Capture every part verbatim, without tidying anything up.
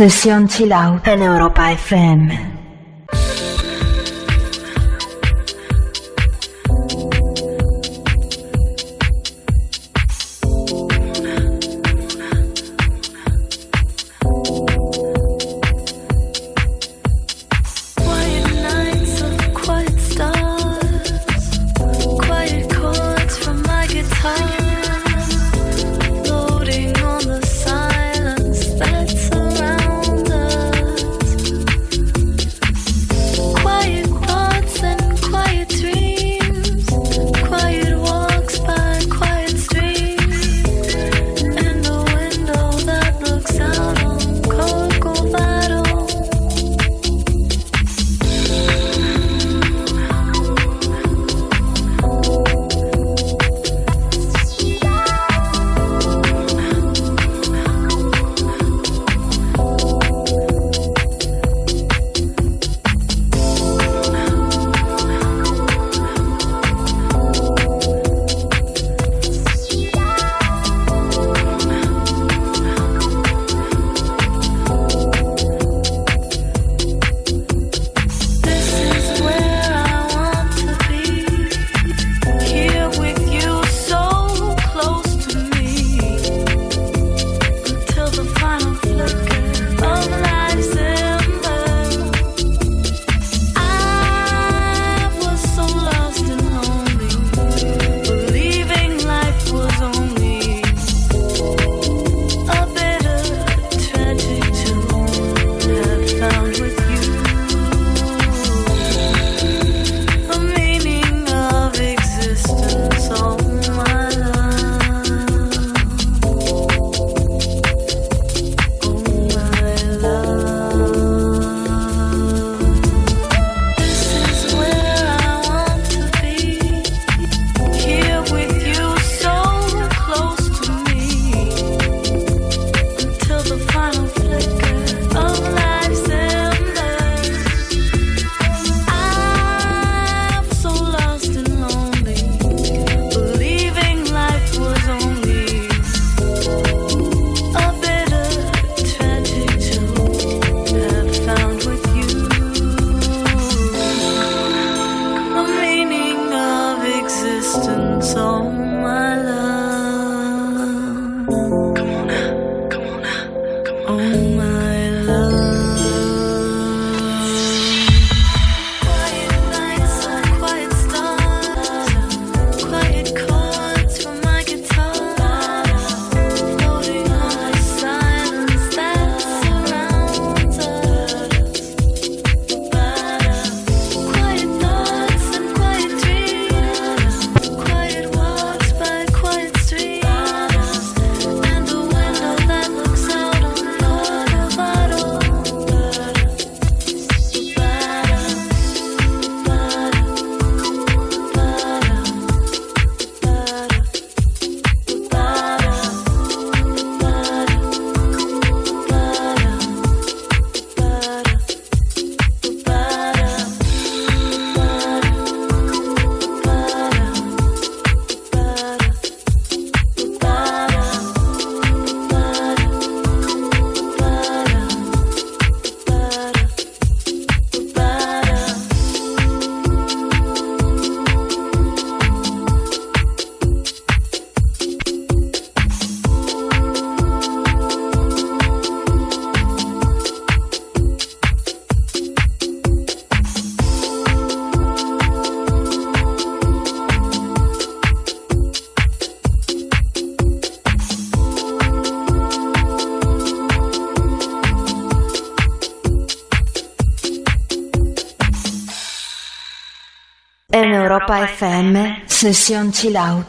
Session Chill Out en Europa F M. En Europa F M, Session Chill Out.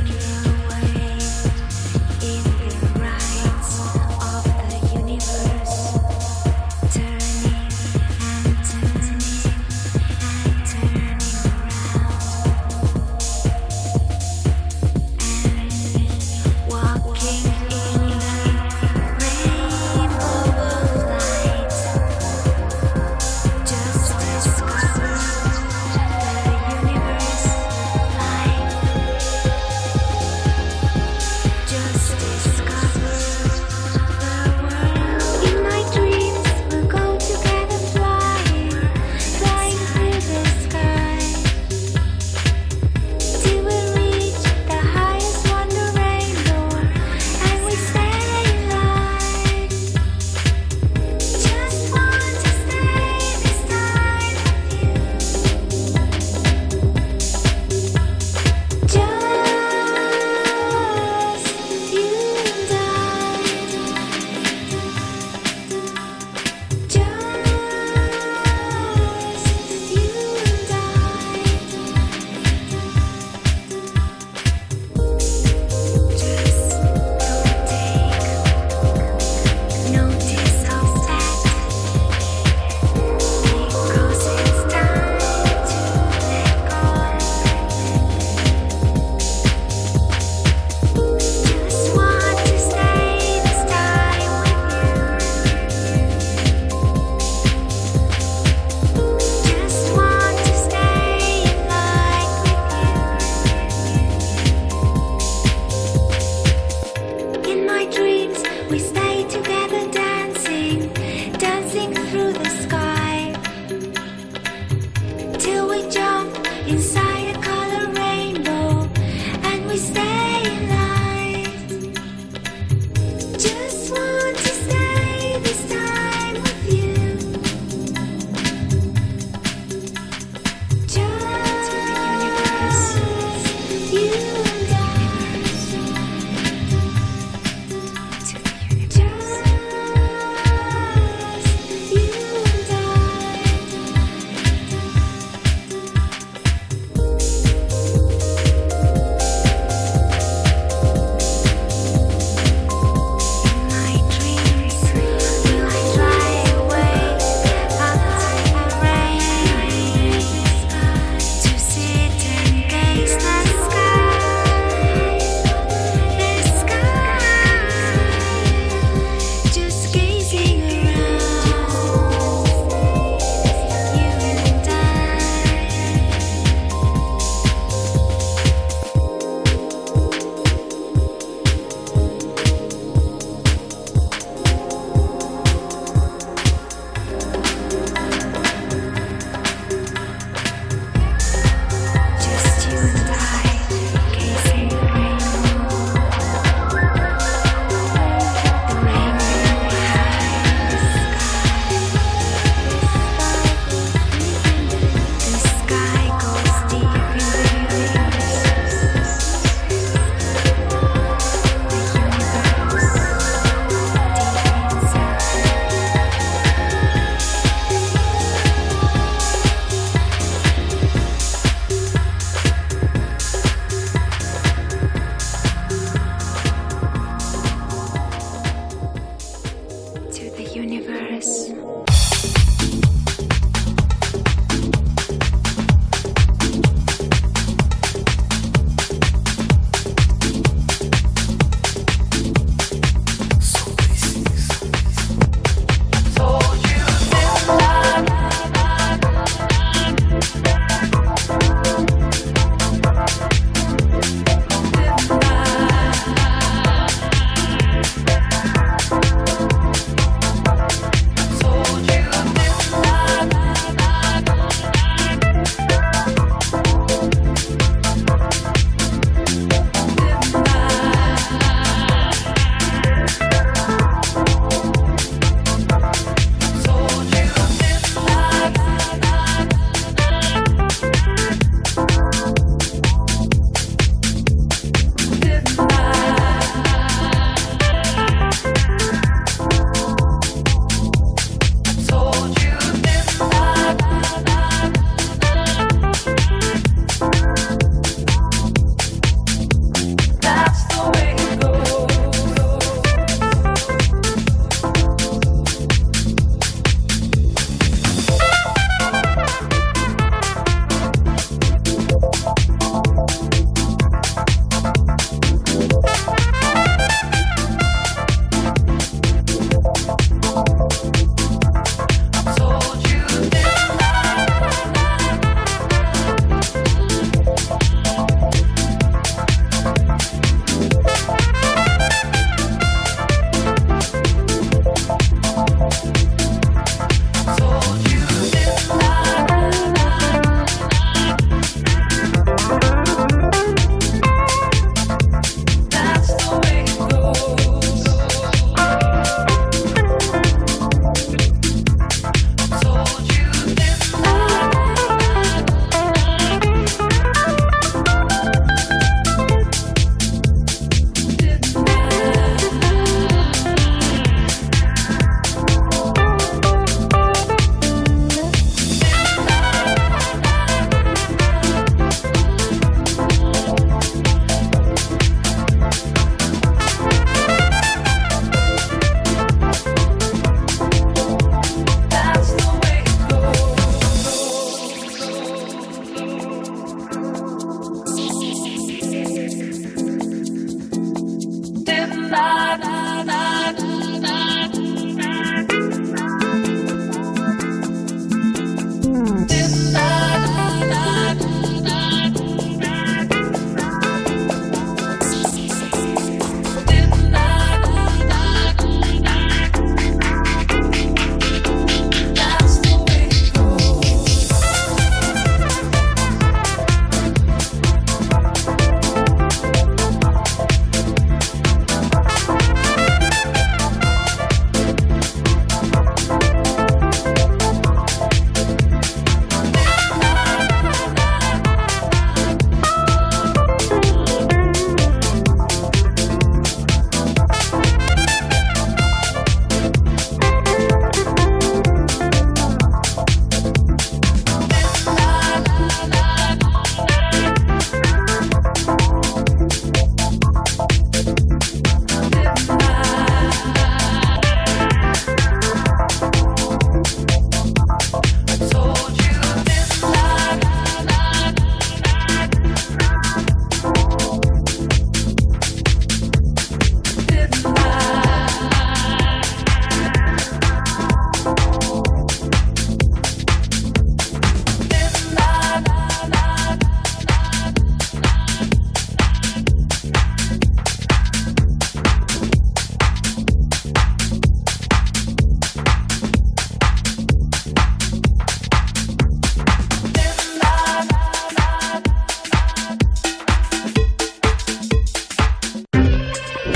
Universe.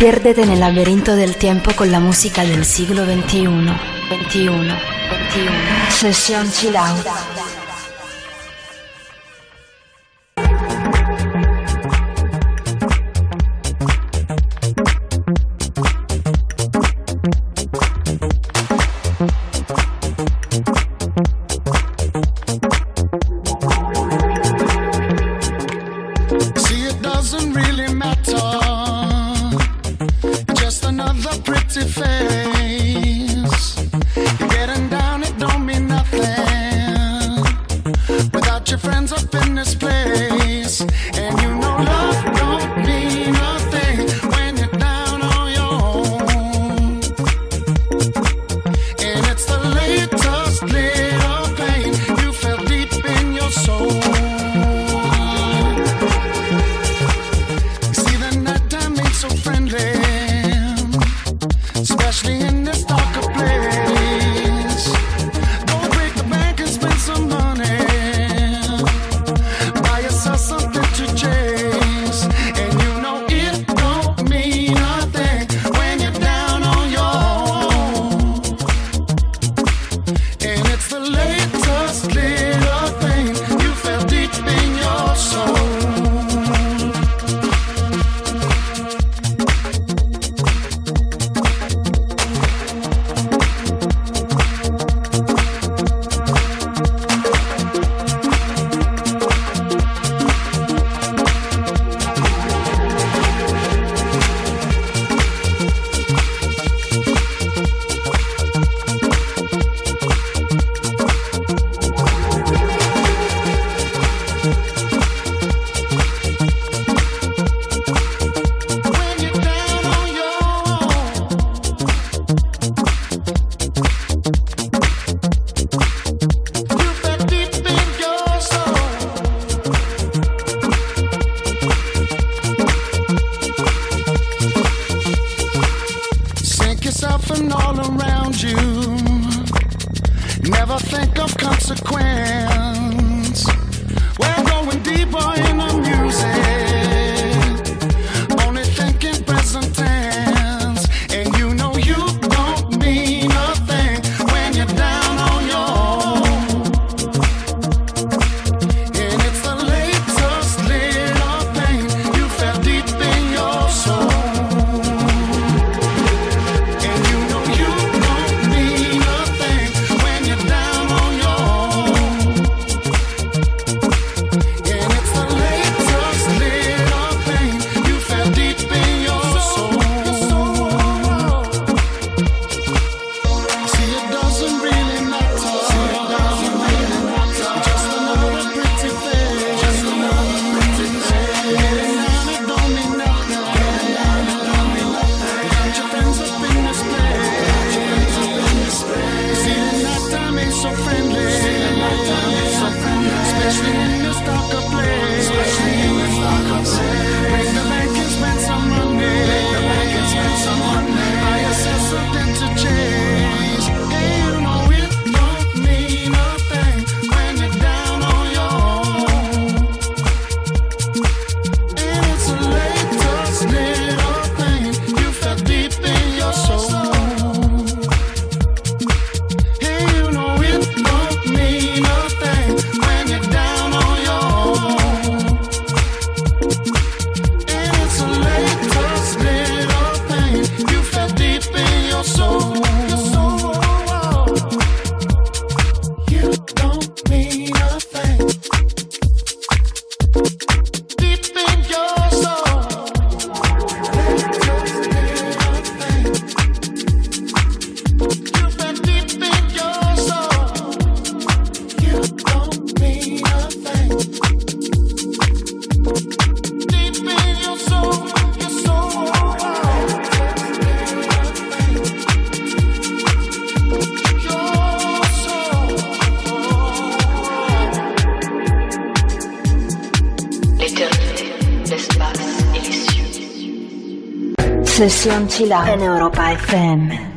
Piérdete en el laberinto del tiempo con la música del siglo veintiuno. veintiuno. veintiuno. Sesión Chill Out. Sesión Chill Out en Europa F M.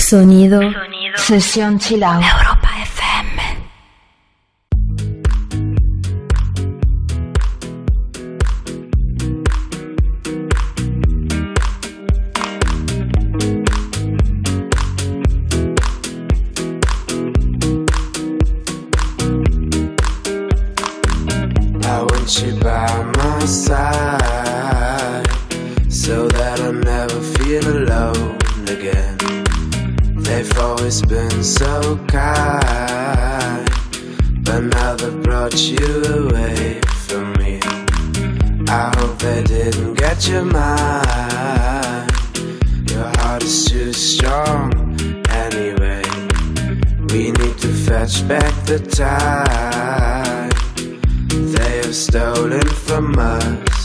Sonido, Sonido. Sesión Chill Out. Europa F M. I want you by my side so that I never feel alone again. They've always been so kind, but now they've brought you away from me. I hope they didn't get your mind. Your heart is too strong anyway. We need to fetch back the time they have stolen from us.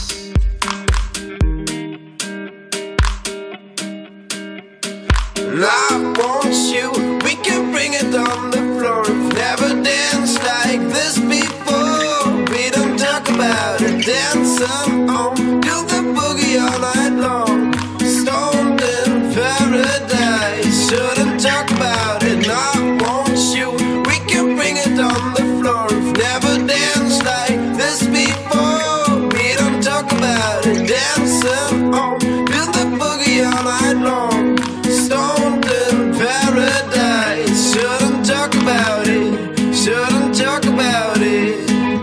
And I want you, we can bring it on the floor. We've never danced like this before. We don't talk about it, dance on, do the boogie all night long. Stoned in paradise, shouldn't talk about it. And I want you, we can bring it on the floor. We've never danced like this before. We don't talk about it, dance on, do the boogie all night long. Stoned in paradise, shouldn't talk about it, shouldn't talk about it.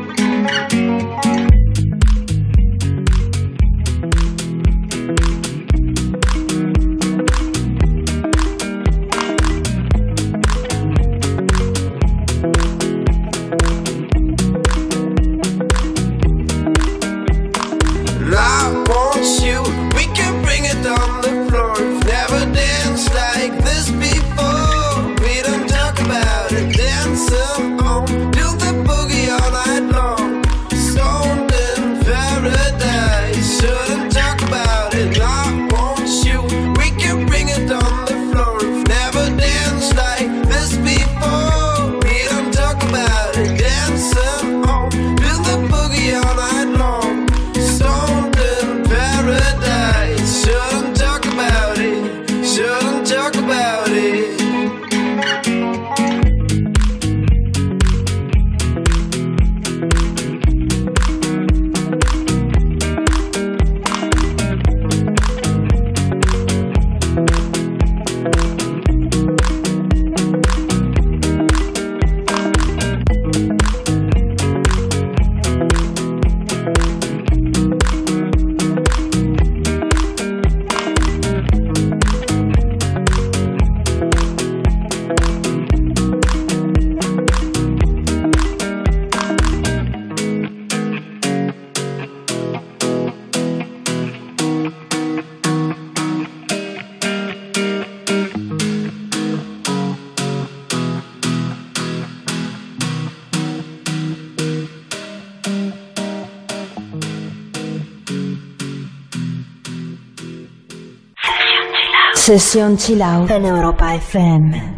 And I want you, we can bring it on the floor. We've never danced like this before. We don't talk about it, dance on, do the boogie all night long. Stoned in paradise, shouldn't talk about it. And I want you, we can bring it on the floor. We've never danced like this before. We don't talk about it, dance on, do the boogie all night long. Stoned in paradise, shouldn't talk about it, shouldn't talk about it. Sesión Chill Out en Europa F M.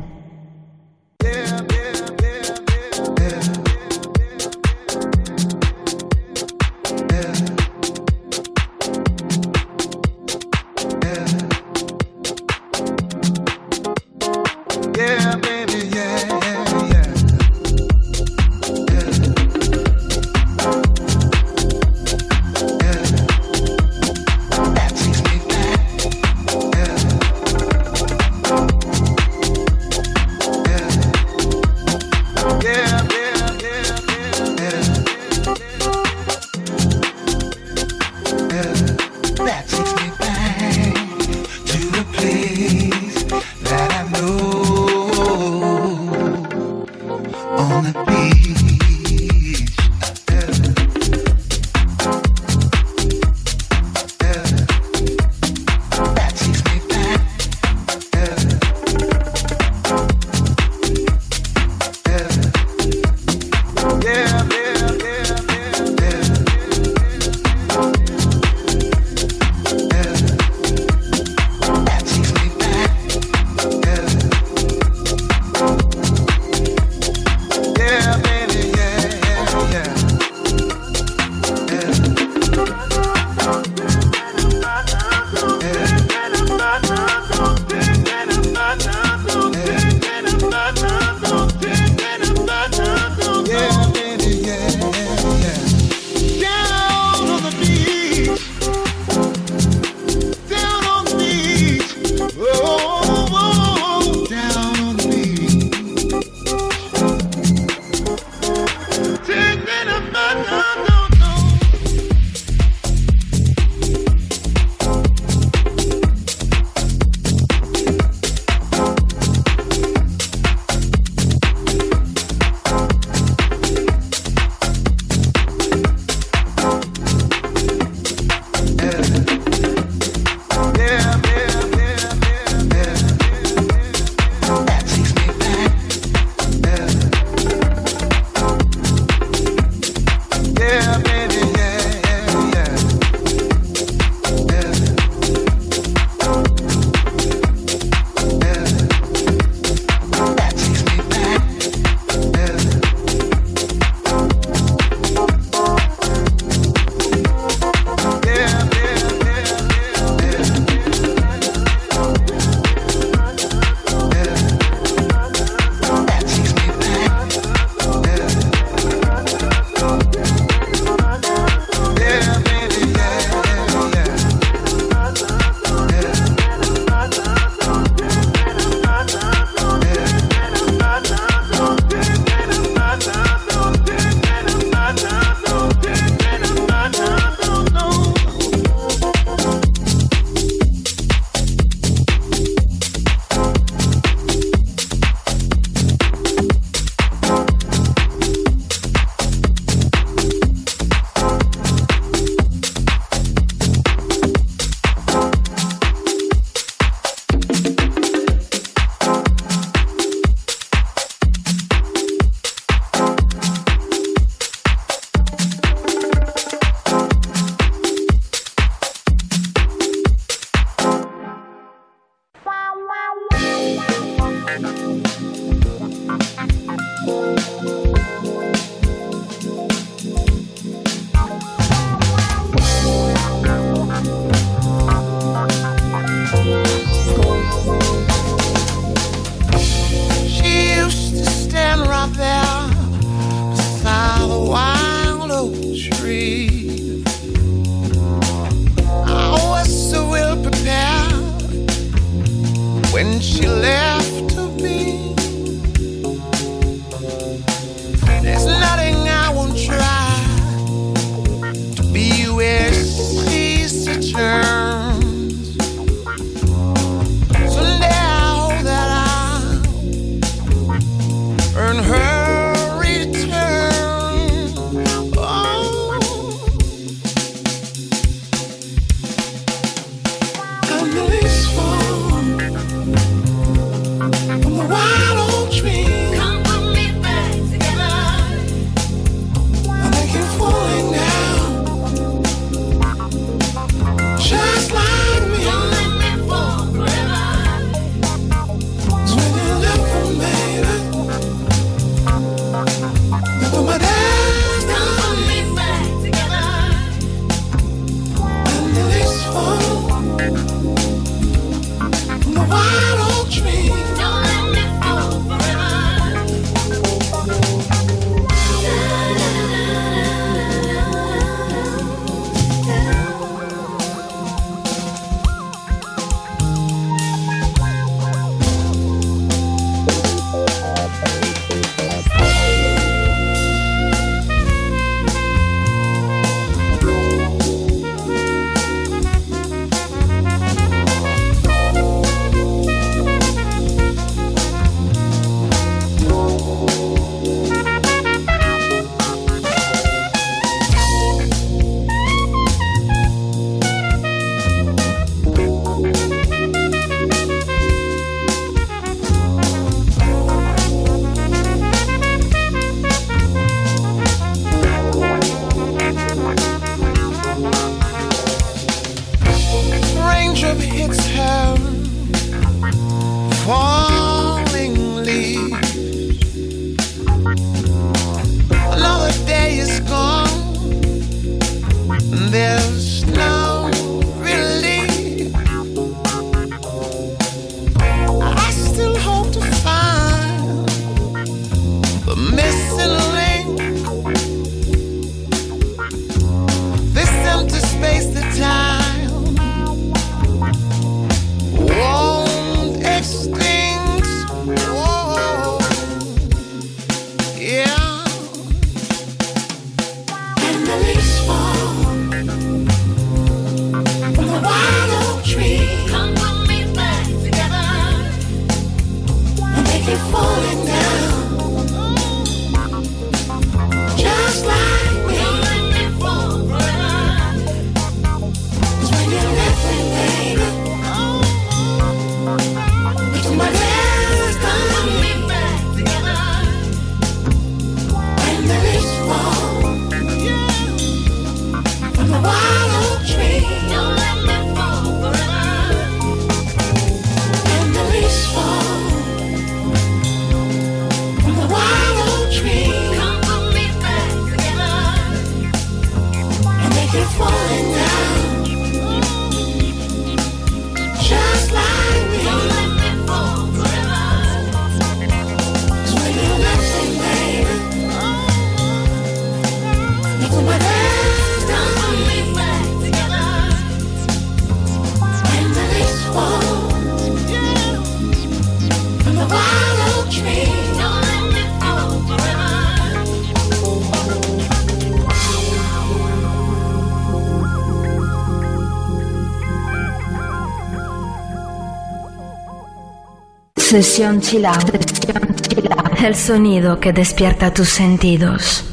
Sesión Chill Out. El sonido que despierta tus sentidos.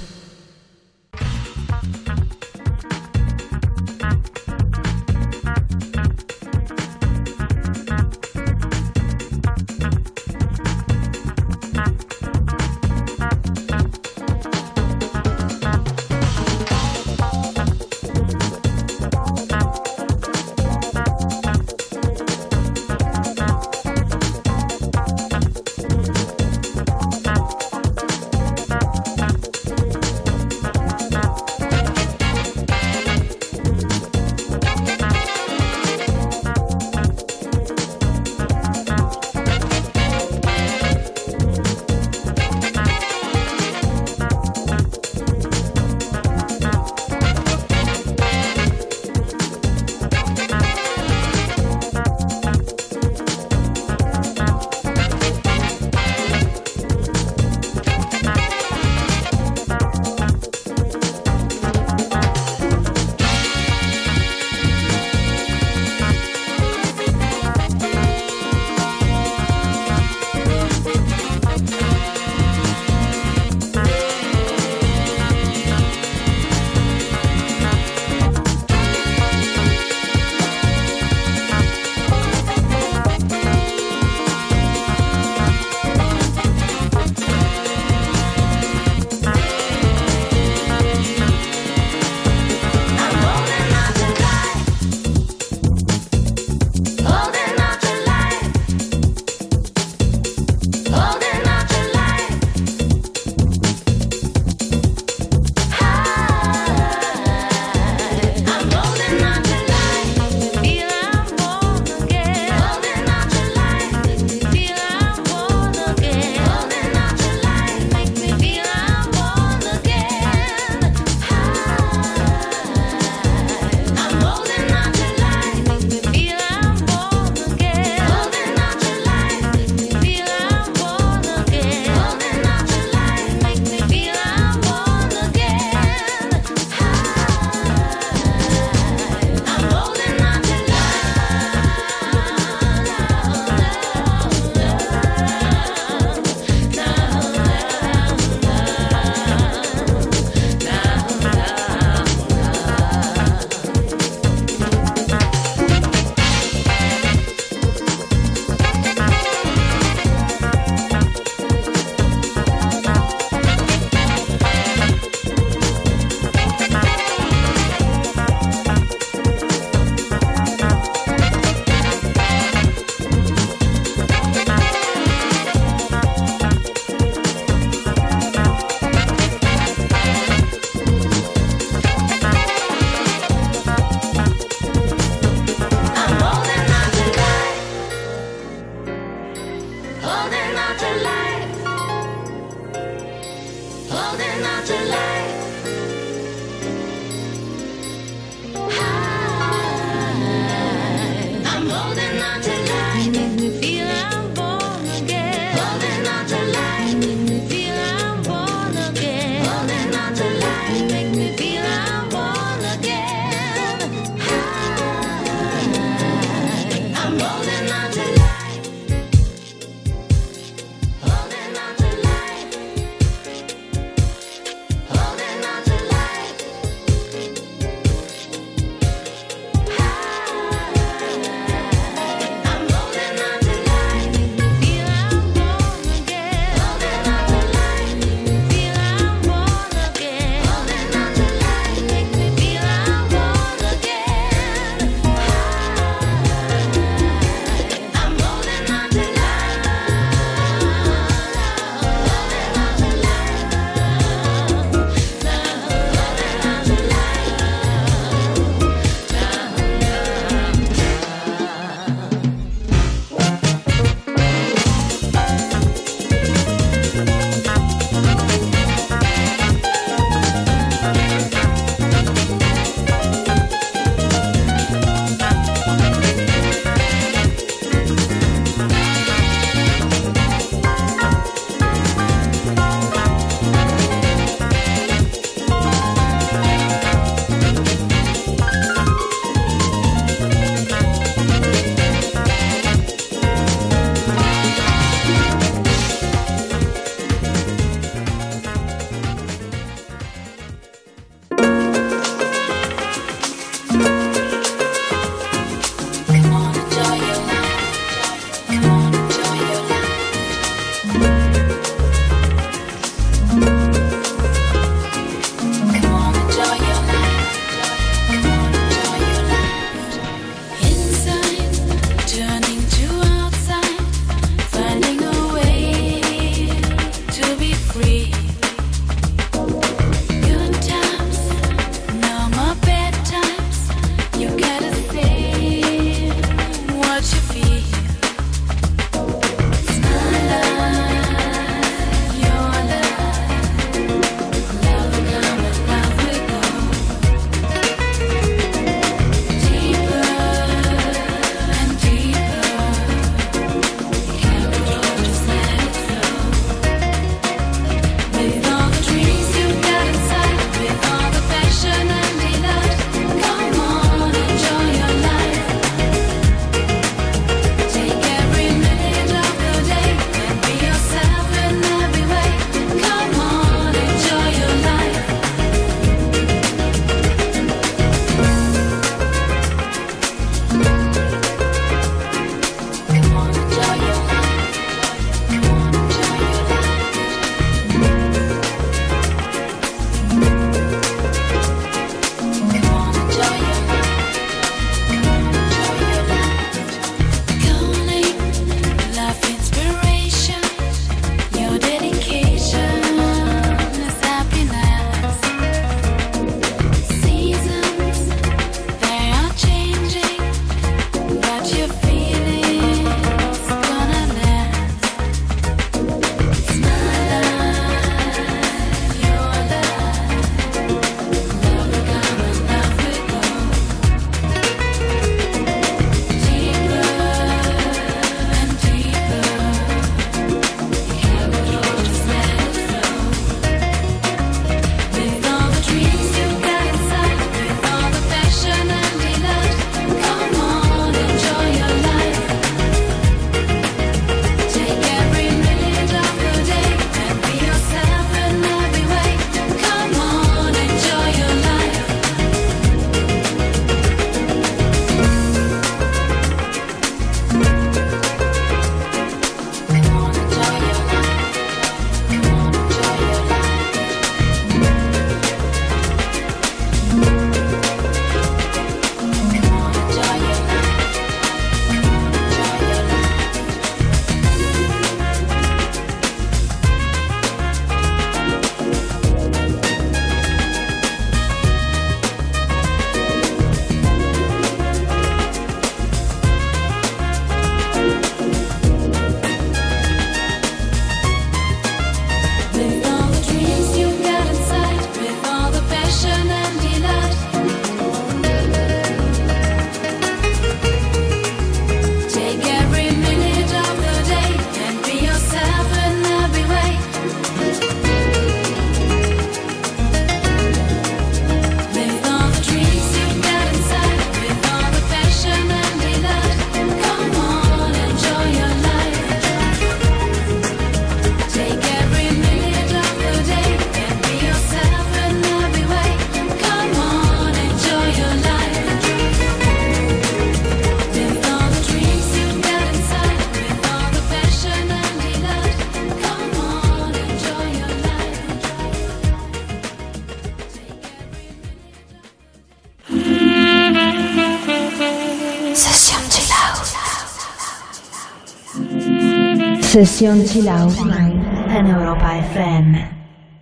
Sesión Chill Out en Europa F M.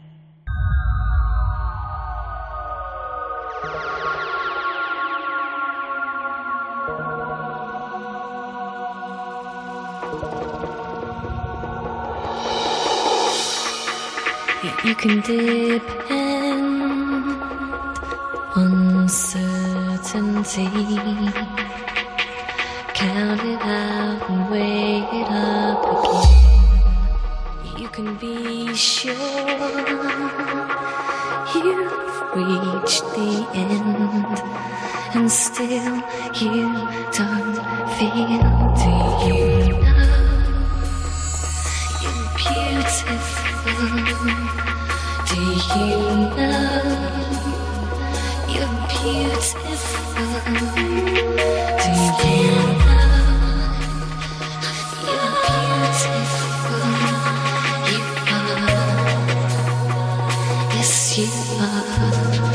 You can depend on certainty. Count it out and weigh it up again. You can be sure you've reached the end, and still you don't feel. Do you know you're beautiful? Do you know you're beautiful? Do you know you're beautiful? You are. Yes, you are.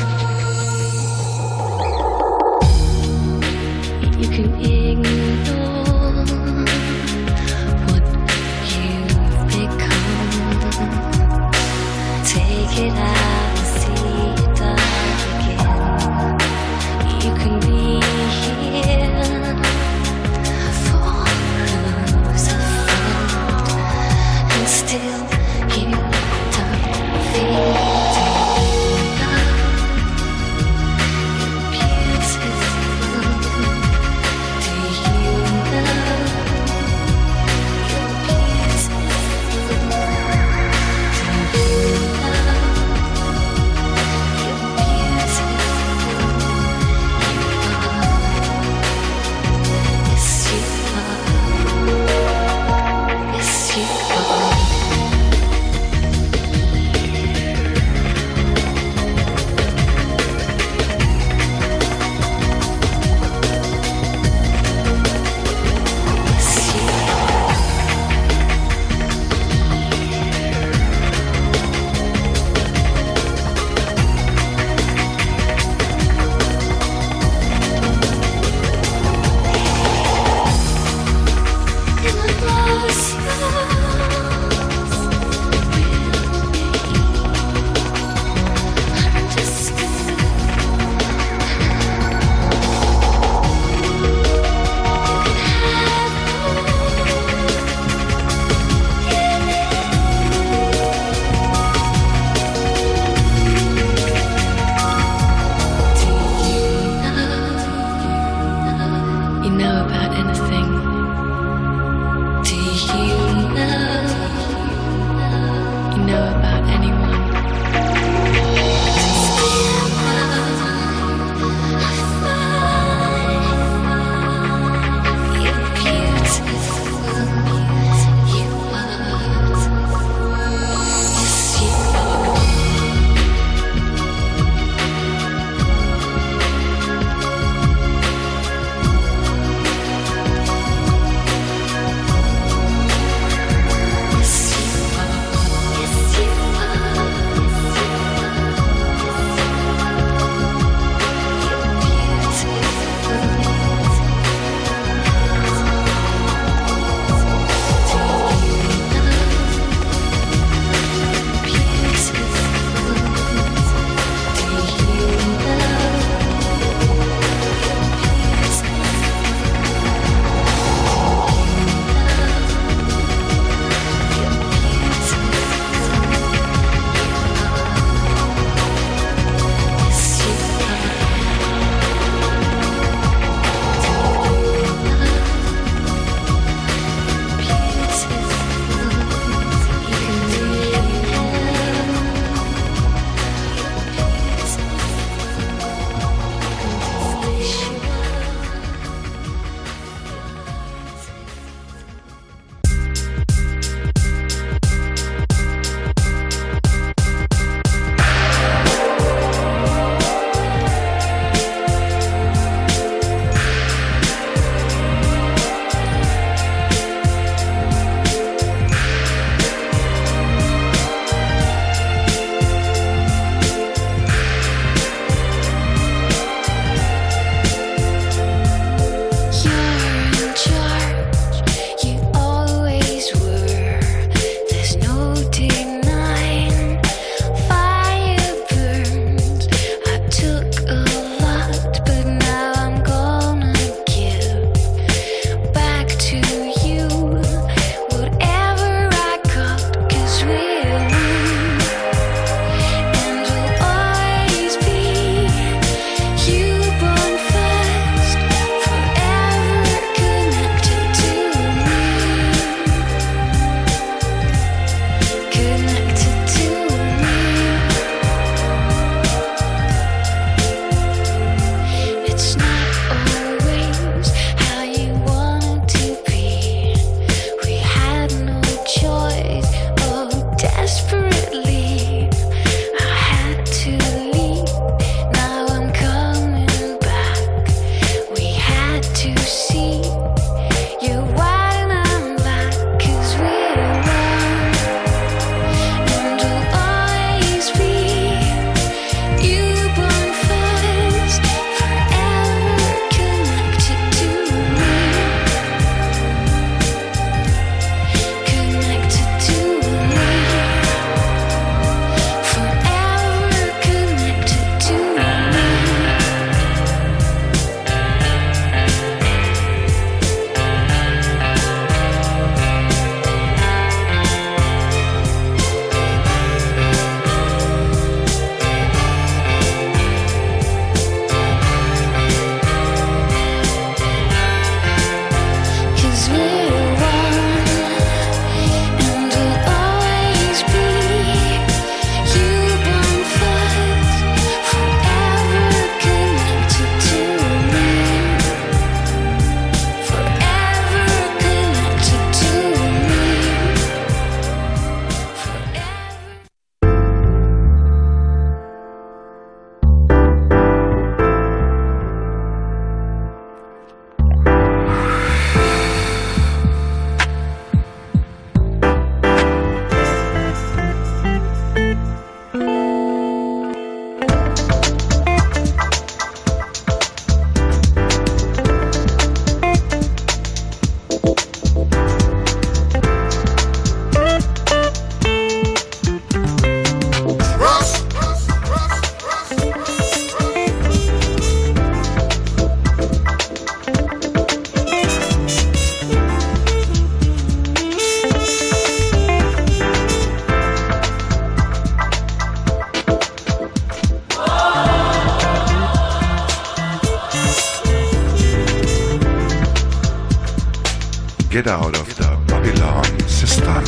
You can ignore what you've become. Take it out and see it die again. You can be here for who's a friend, and still you don't feel. Do you know Get out of the Babylon system.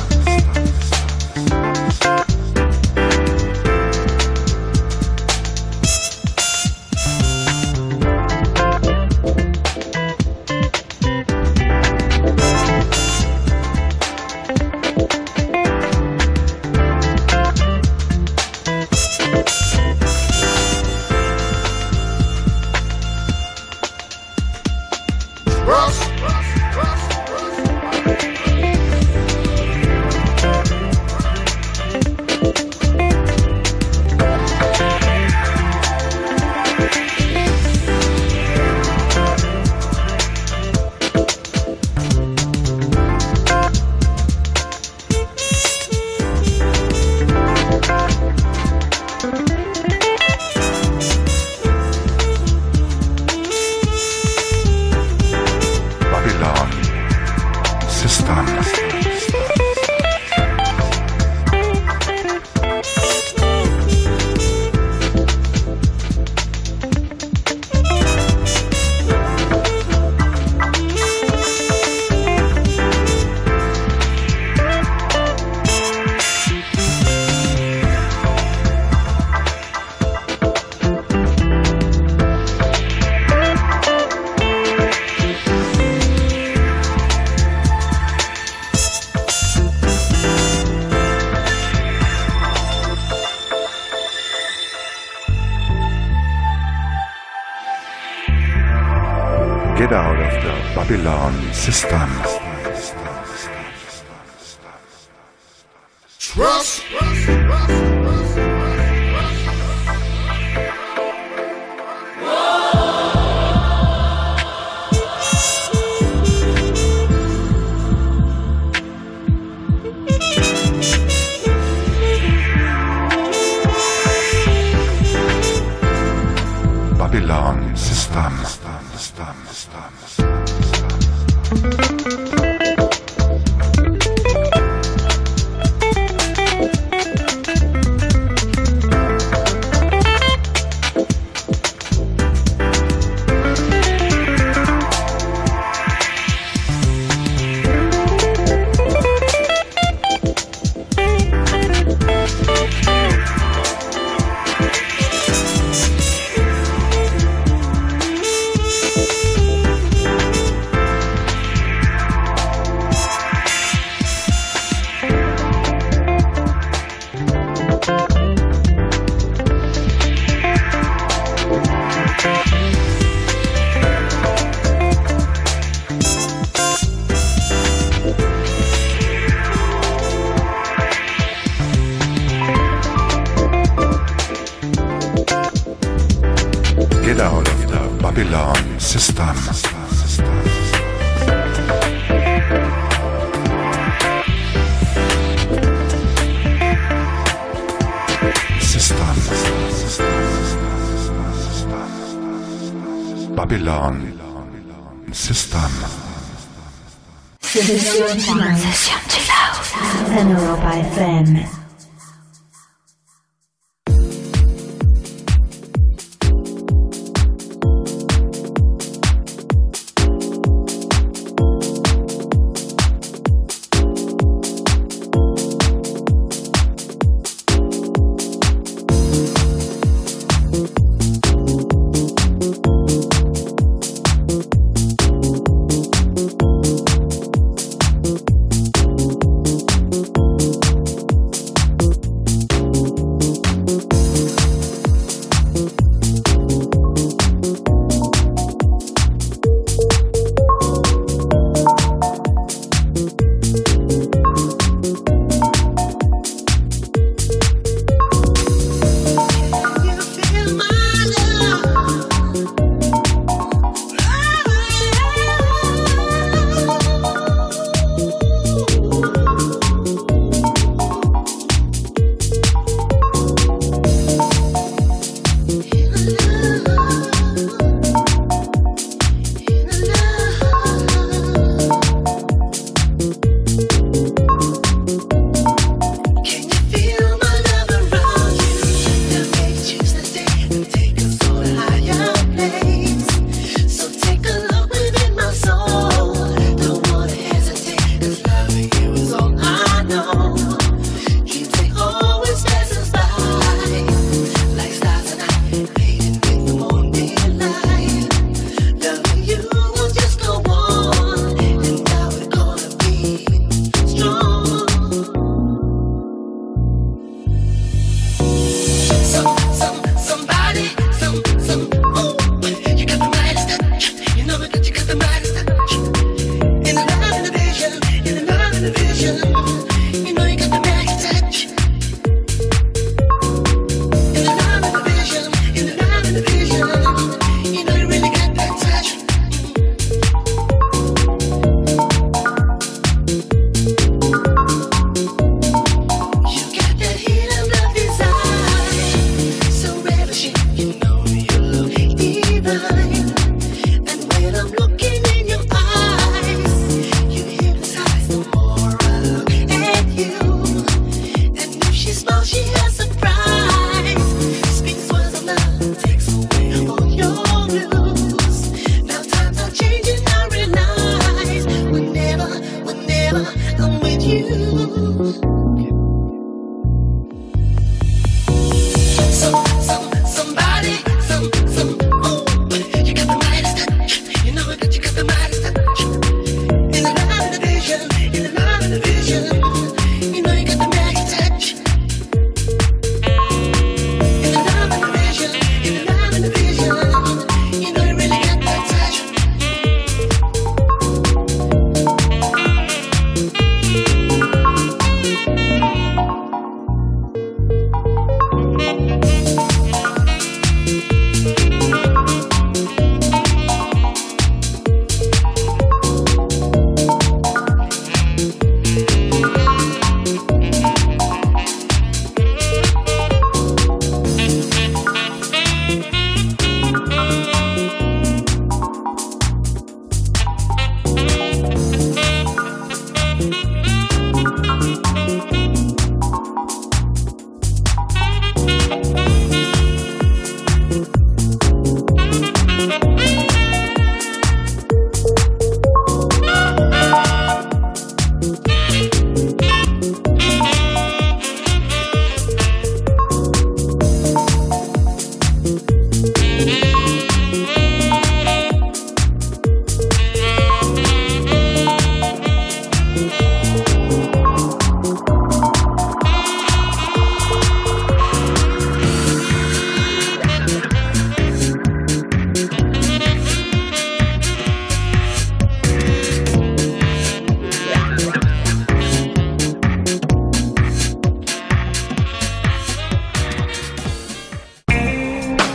Get out of the Babylon system. Trust. Babylon system. Get out of the Babylon system. System. Babylon system. Sesión Chill Out en Europa F M.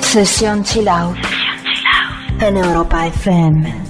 Sesión Chill Out en Europa F M.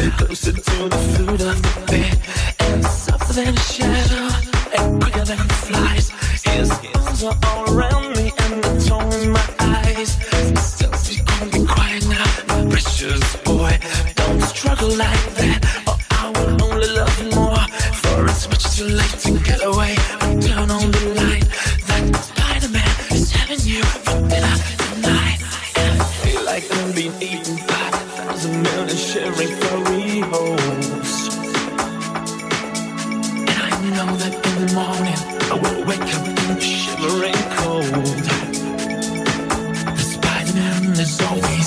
closer to the foot of the bed, and softer than a shadow, and quicker than flies. His hands are all around me, and the tongue in my eyes. Still, you can't be quiet now, my precious boy. Don't struggle like that, or I will only love you more. For it's much too late to get away and turn on the light. That Spider-Man is having you for dinner tonight. And I feel like I'm being eaten by a thousand million shivering furry holes. And I know that in the morning I will wake up in the shivering cold. The Spider-Man is always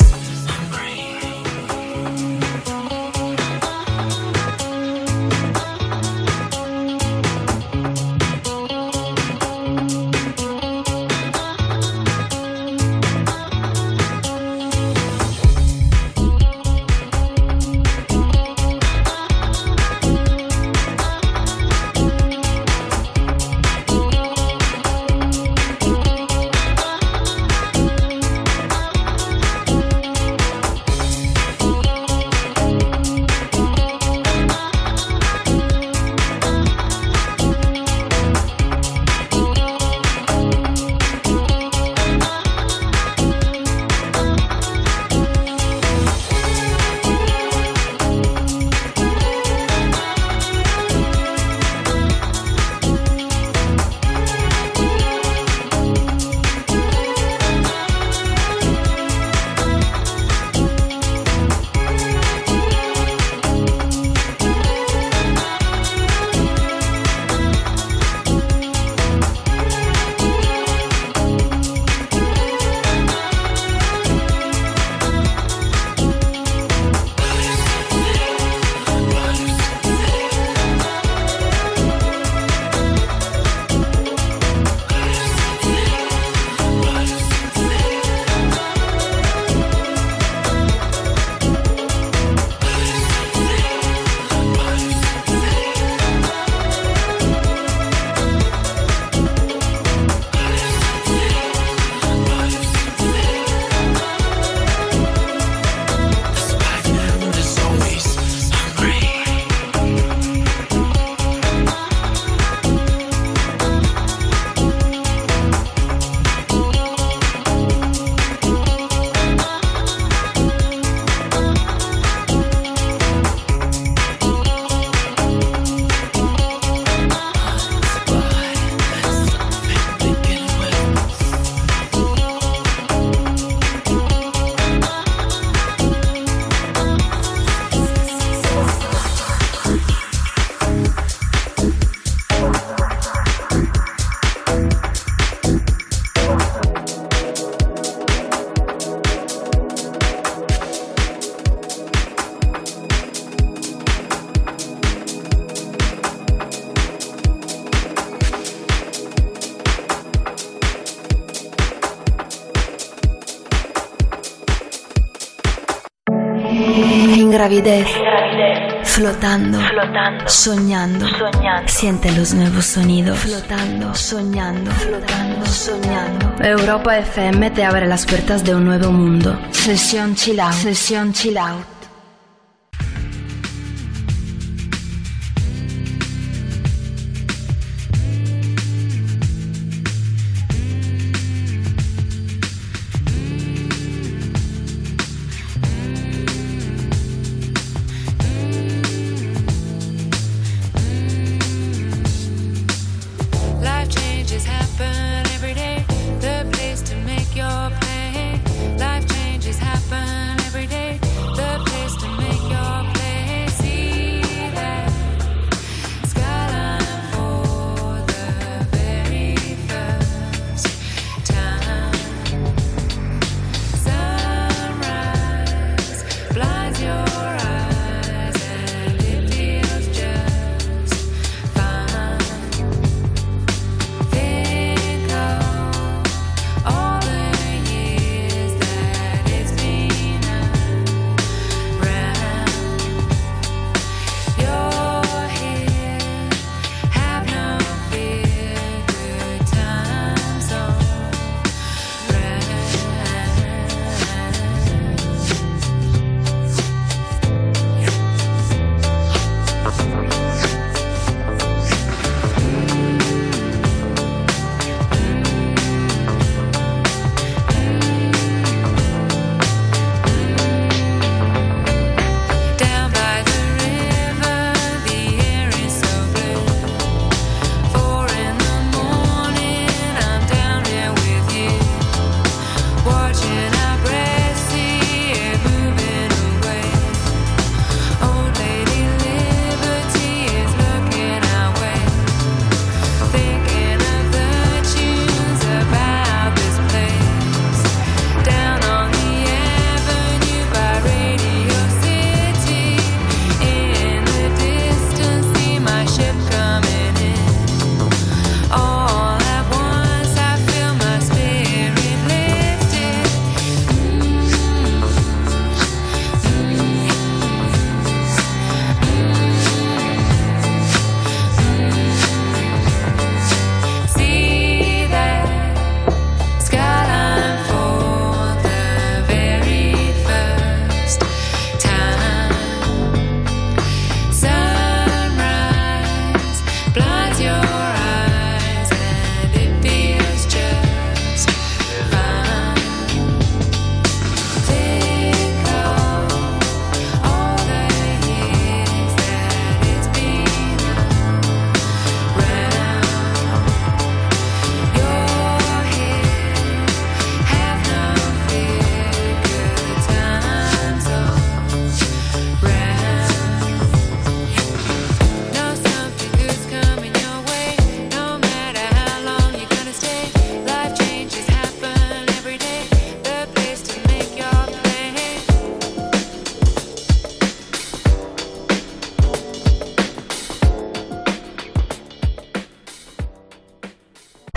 Gravidez, flotando, flotando, soñando, soñando, siente los nuevos sonidos, flotando, soñando, flotando, soñando. Europa F M te abre las puertas de un nuevo mundo. Sesión Chill Out, sesión Chill Out. Life changes happen every day. The place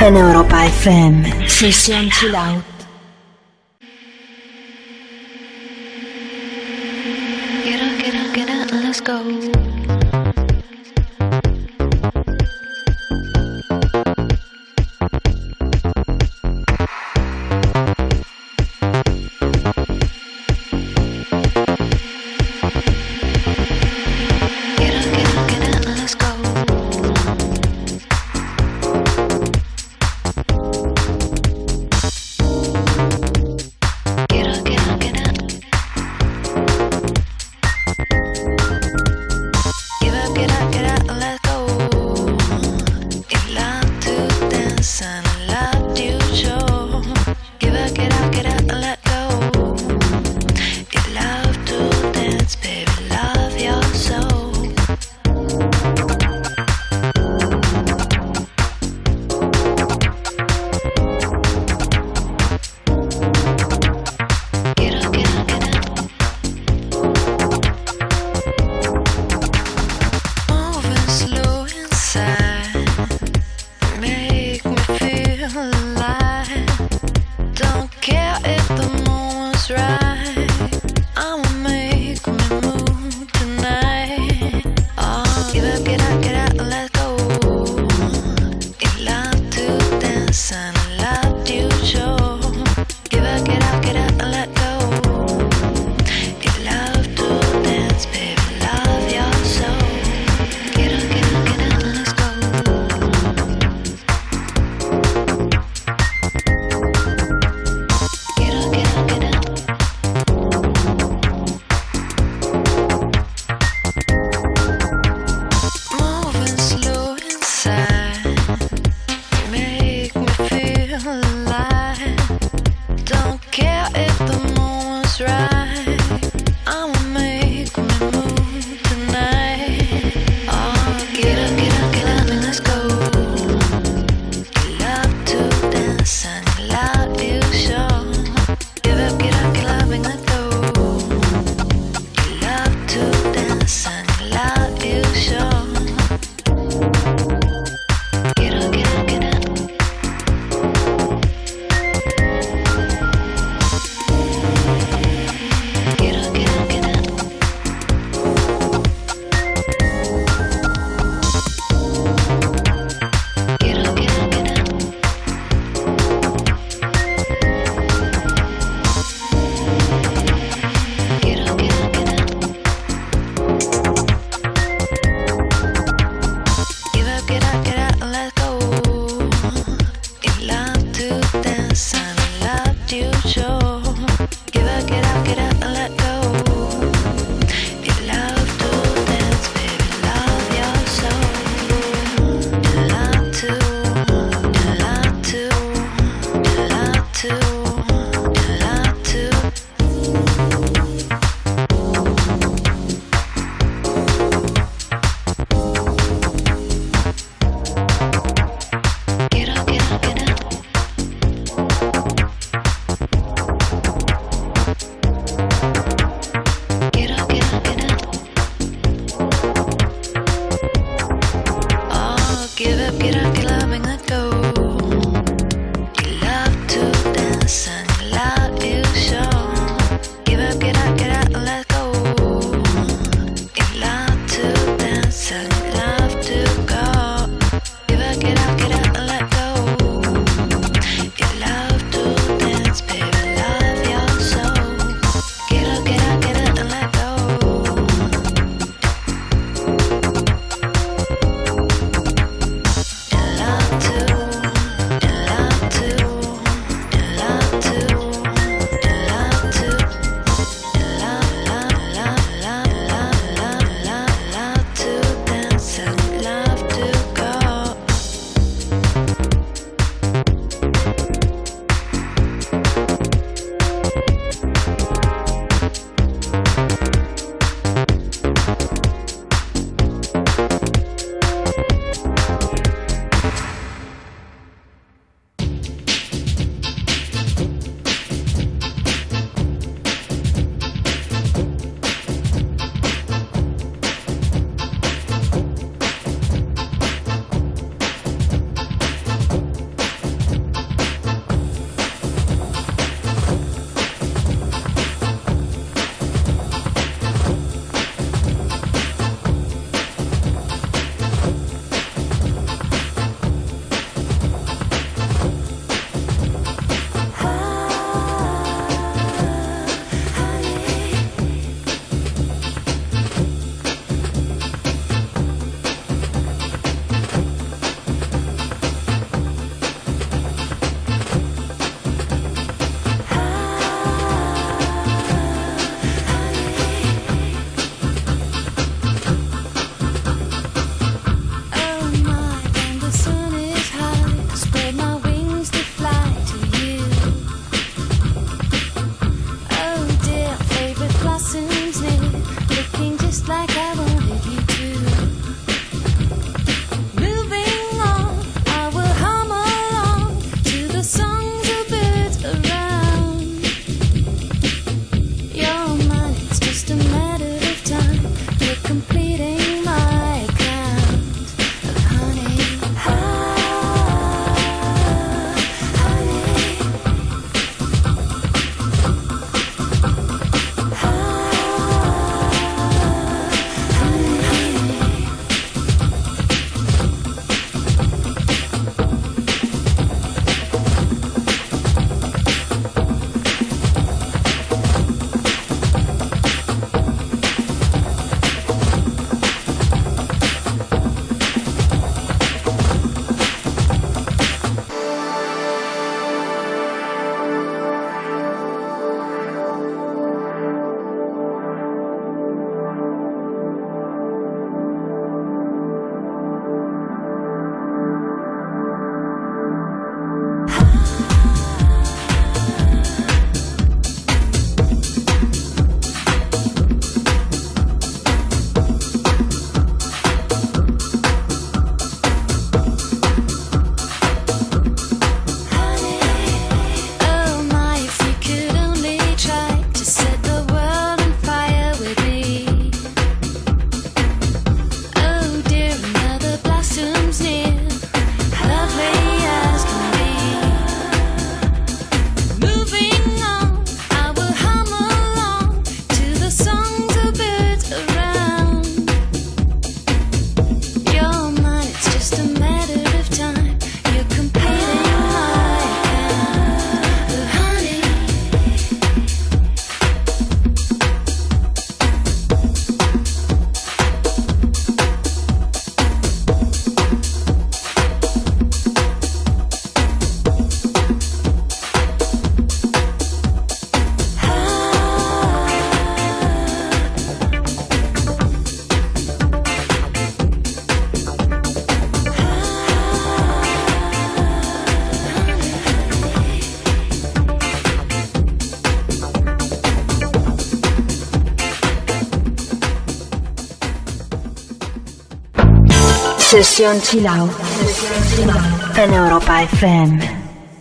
en Europa F M. Sesión Chill Out. Get up, get up, get up, let's go. Sesión Chill Out en Europa F M.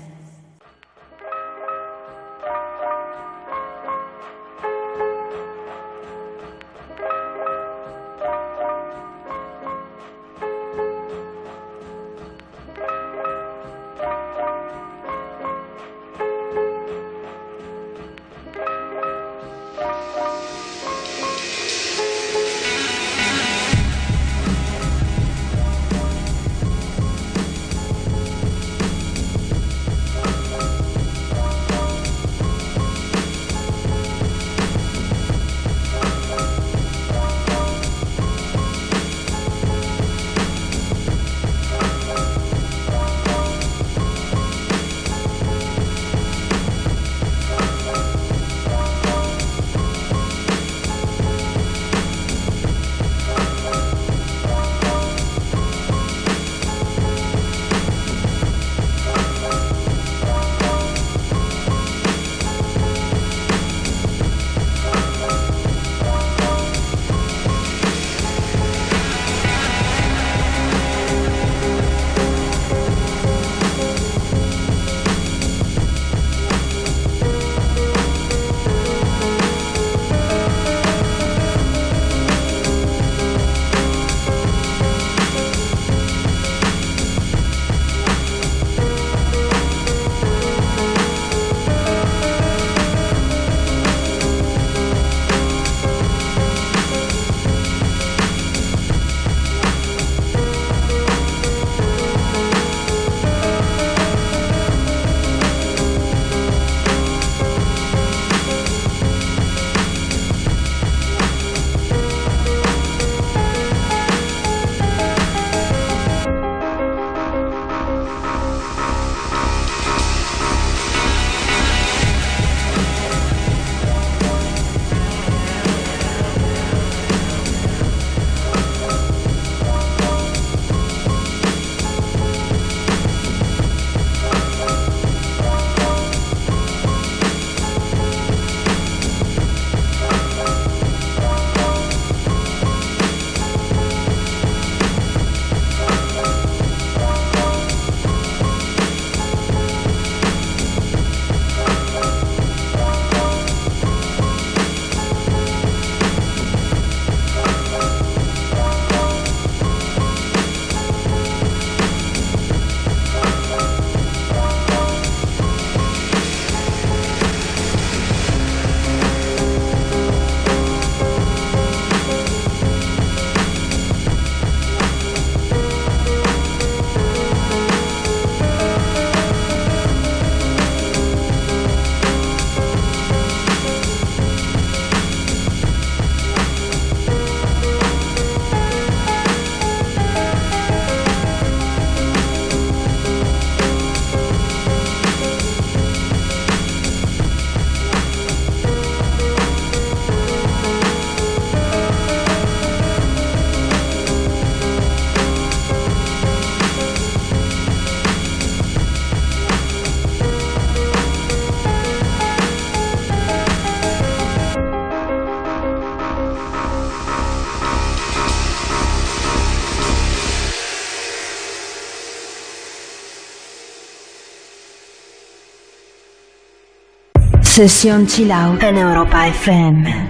Sesión Chill Out en Europa F M.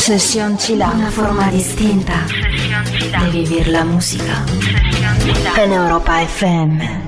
Sesión Chila, una forma distinta de vivir la música en Europa F M.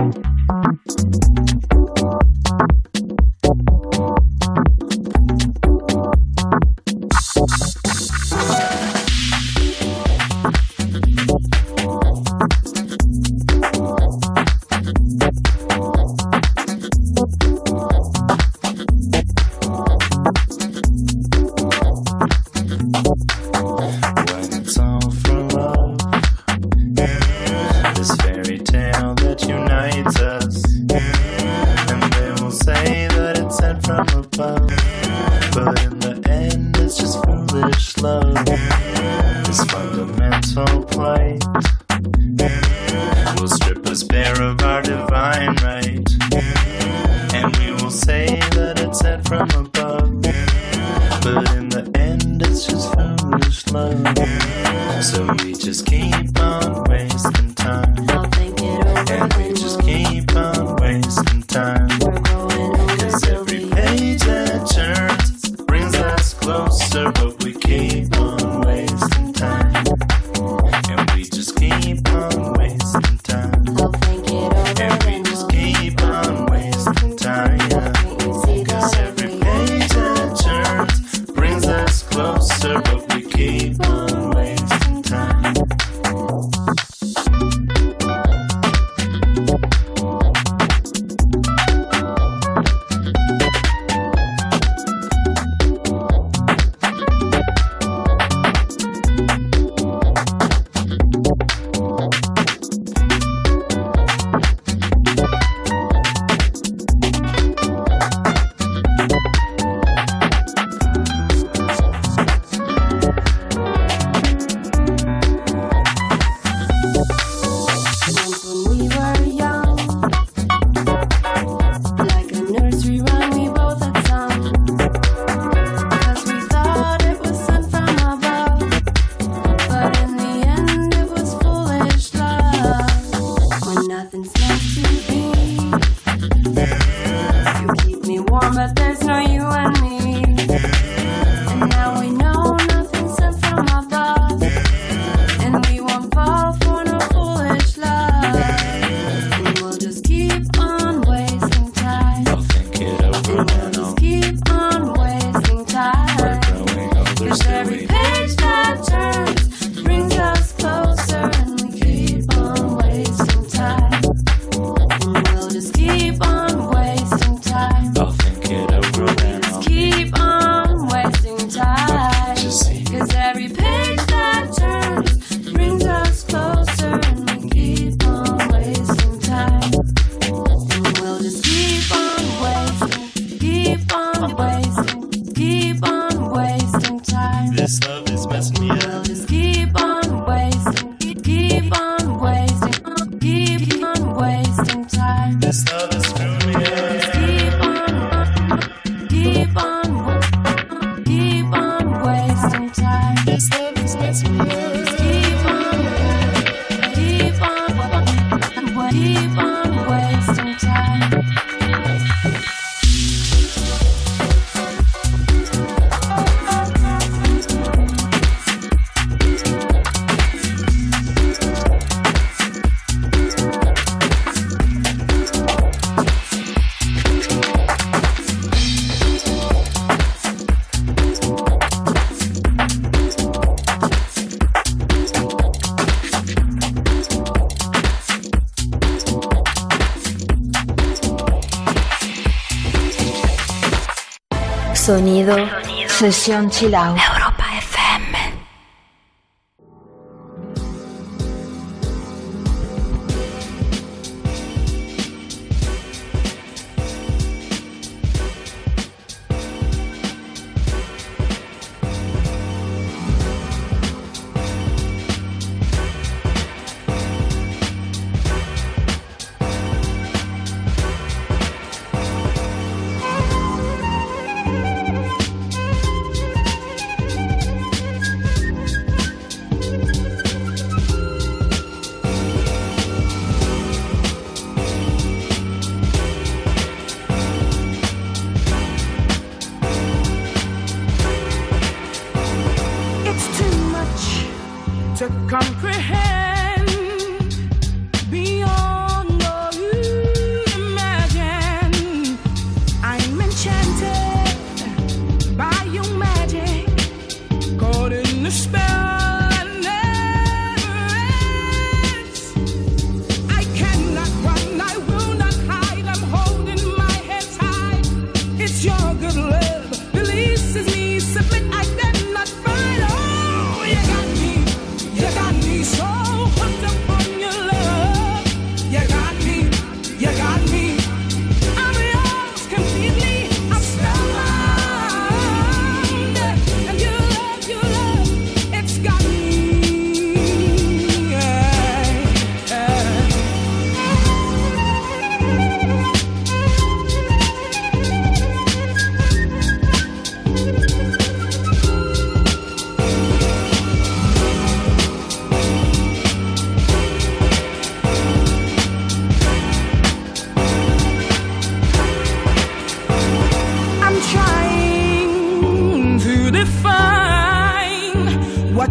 Sonido, sesión chill out. Europa F M.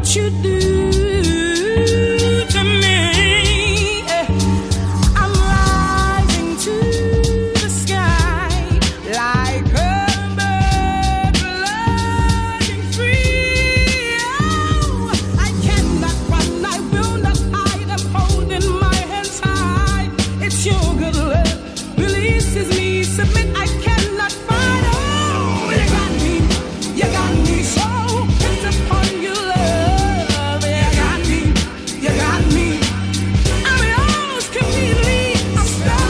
what you do to me. I'm rising to the sky like a bird flying free. Oh, I cannot run, I will not hide. I'm holding my hands high. It's your good love releases me. Submit, I cannot fight. Oh, you got me, you got me so bent upon your love. You got me, you got me. I'm yours completely. I'm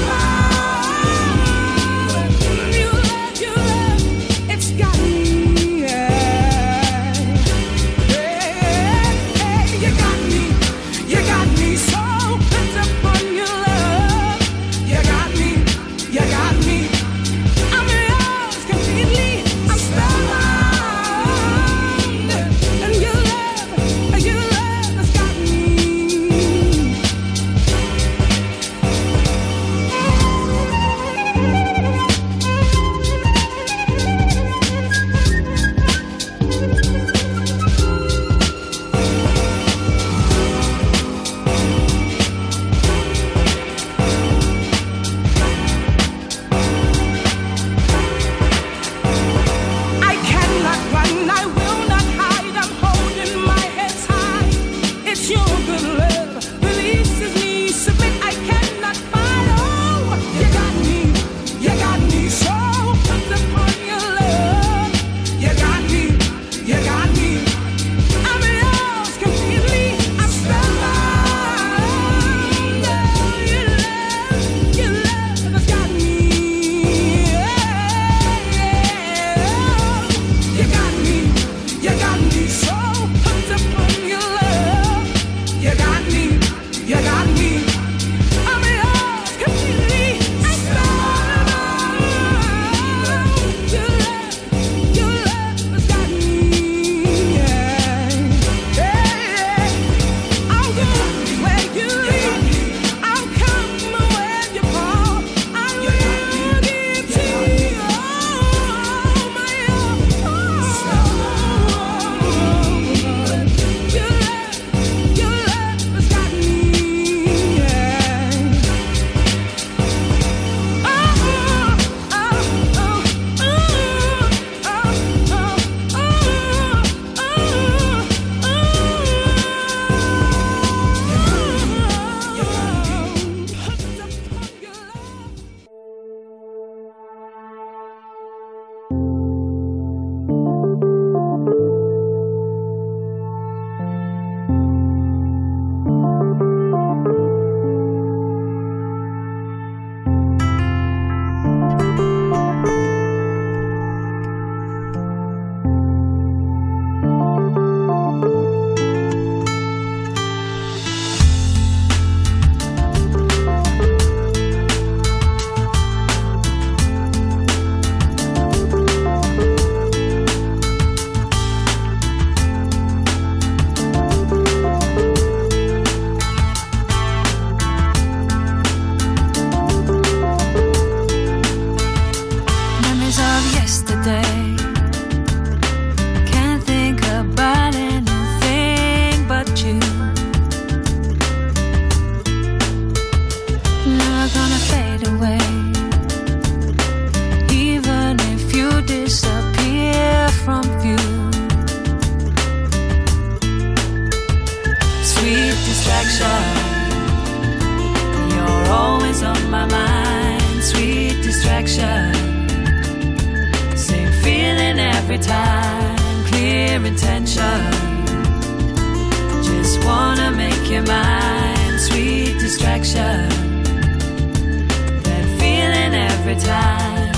spellbound. Your love, your love, it's got me. Yeah. Yeah. You got me, you got me so bent upon your love. You got me, you got me. I'm yours completely. I'm spellbound. And your love, your love has got me. I cannot run, I will not hide. I'm holding my head high. It's your good love releases me. Submit, I cannot fight. Oh, you got me, you got me so hooked upon your love. You got me, you got me. I'm yours completely. I'm spellbound. Oh, your love, your love has got me. You got me, you got me so hooked upon your love. You got me, you got me. I'm yours completely. I'm spellbound. Your love, your love has got me. Yeah, yeah. I'll go where you lead. I'll come where you call. I will give to you all my all. Your love, your love has got me. Yeah. Oh, oh, oh, oh, oh, oh, oh, Memories of yesterday. Can't think about anything but you. Never gonna fade away. Even if you disappear from view. Sweet distraction. You're always on my mind. Sweet distraction. Same feeling every time, clear intention. Just wanna make you mine, sweet distraction. That feeling every time.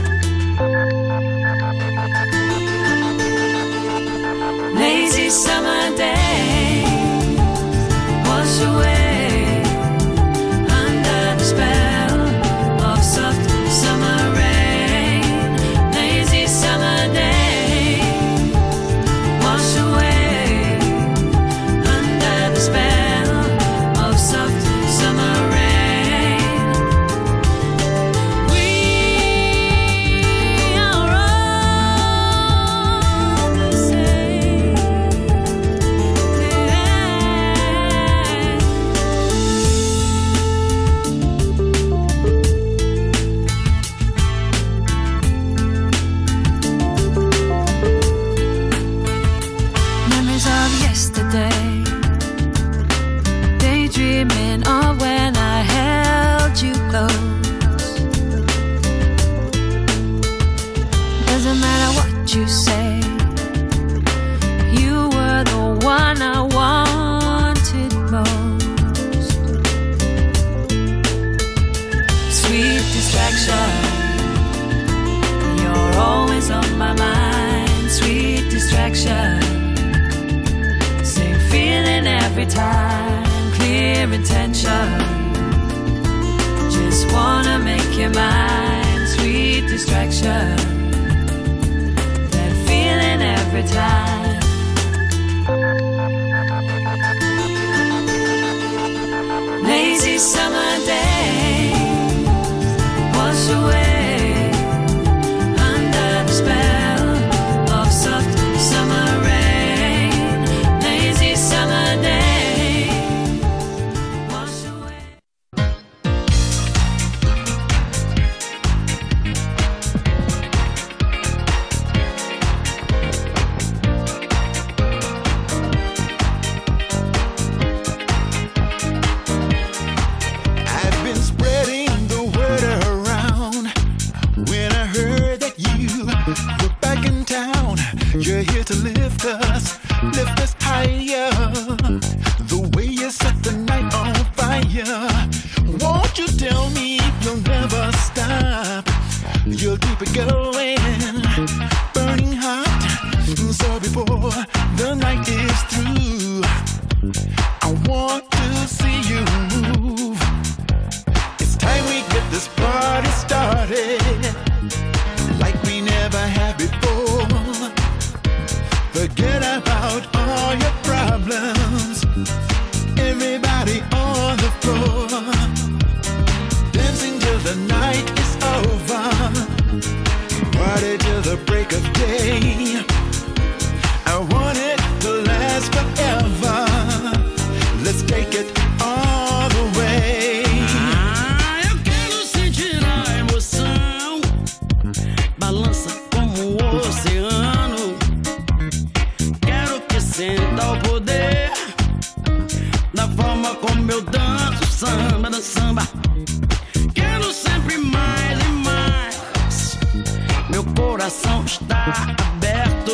Lazy summer day, wash away under the spell of soft summer rain. Lazy summer day, wash away under the spell of soft summer rain. We distraction. You're always on my mind, sweet distraction. Same feeling every time, clear intention. Just wanna make you mine, sweet distraction. That feeling every time. Lazy summer days wash away under the spell of soft summer rain. Lazy summer days wash away. I've been spreading the word around. When I heard that you were back in town, you're here to lift us, lift us higher. The way you set the night on fire. Won't you tell me you'll never stop? You'll keep it going, burning hot. So before the night is through, I want to see you move. It's time we get this party started, like we never have before. Forget about all your problems. Everybody on the floor, dancing till the night is over. Party till the break of day. I want it to last forever. Let's take it all the way. Ah, eu quero sentir a emoção, balança como o oceano. Quero que sinta o poder da forma como eu danço samba, da samba. Quero sempre mais e mais. Meu coração está aberto.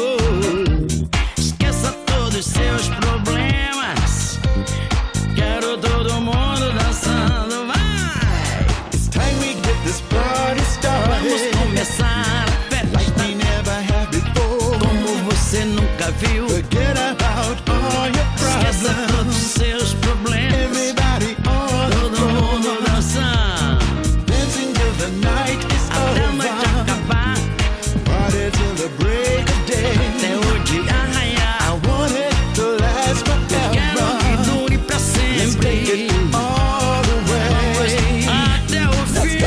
Esqueça todos os seus problemas. Quero todo mundo dançando, vai! It's time we get this party started, Vamos começar a festa, like we never have before. como você nunca viu. Forget about all your Esqueça todos os problems. seus problemas. Everybody on the Todo mundo floor, dançando dancing till the night is até a noite over. acabar, Party till the break of day. até o dia raiar. I want it to last Quero que forever. dure pra Let's take sempre, it all the way. até o fim.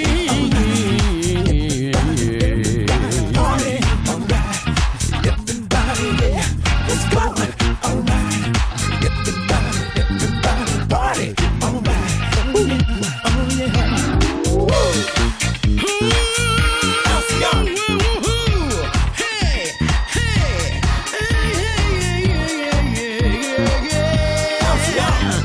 Party, alright. Everybody, yeah. Let's go. Alright. Everybody, everybody, party, alright. Oh yeah, oh yeah. Woo. Let's go. Hey, hey, hey, hey, yeah, yeah,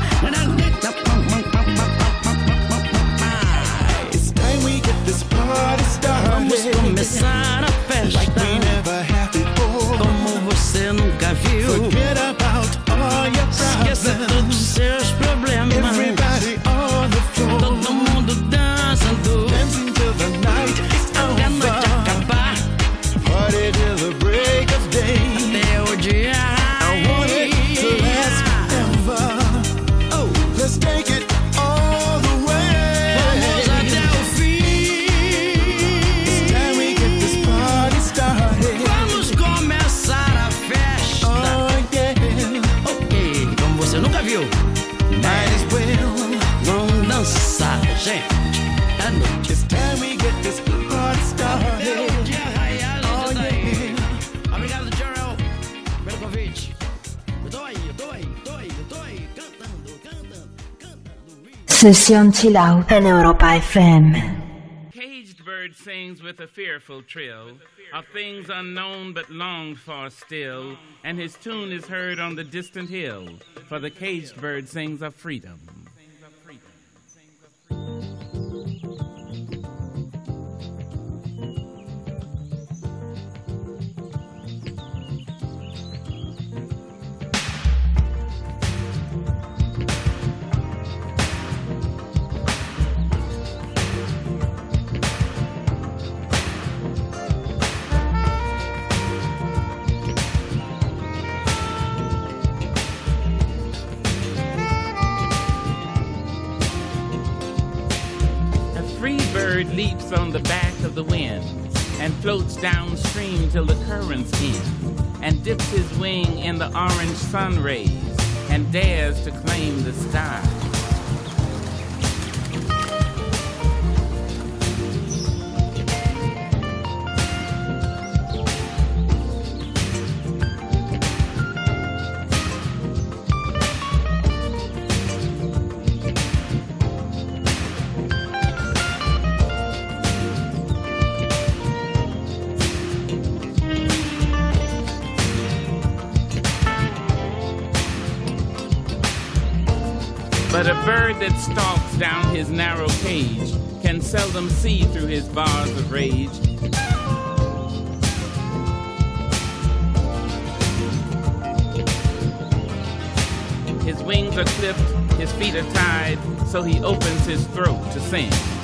yeah. It's time we get this party Vamos started, começar a like we festa, never have before. como você nunca viu. Forget about all your Esqueça todos os problems. seus problemas. Everybody on the floor, Todo mundo dançando dancing till the night is até a noite over. acabar, Party till the break of day. até o dia I want it to last forever. Oh, let's take it all the way. Vamos até o fim. It's time we get this party started. Vamos começar a festa. Oh yeah, Ok, como você nunca viu. might as well. Vamos dançar, gente. À noite. It's time we get this party started. Até o dia raiar, a Oh gente tá aí. yeah. Obrigado, Gerald, pelo convite. Eu tô aí, eu tô aí, eu tô aí, eu tô aí, cantando, cantando, cantando. Sesión Chill Out en Europa F M. Caged bird sings with a fearful trill of things unknown but longed for still, and his tune is heard on the distant hill, for the caged bird sings of freedom. bird leaps on the back of the wind and floats downstream till the currents end, and dips his wing in the orange sun rays and dares to claim the sky. But a bird that stalks down his narrow cage can seldom see through his bars of rage. His wings are clipped, his feet are tied, so he opens his throat to sing.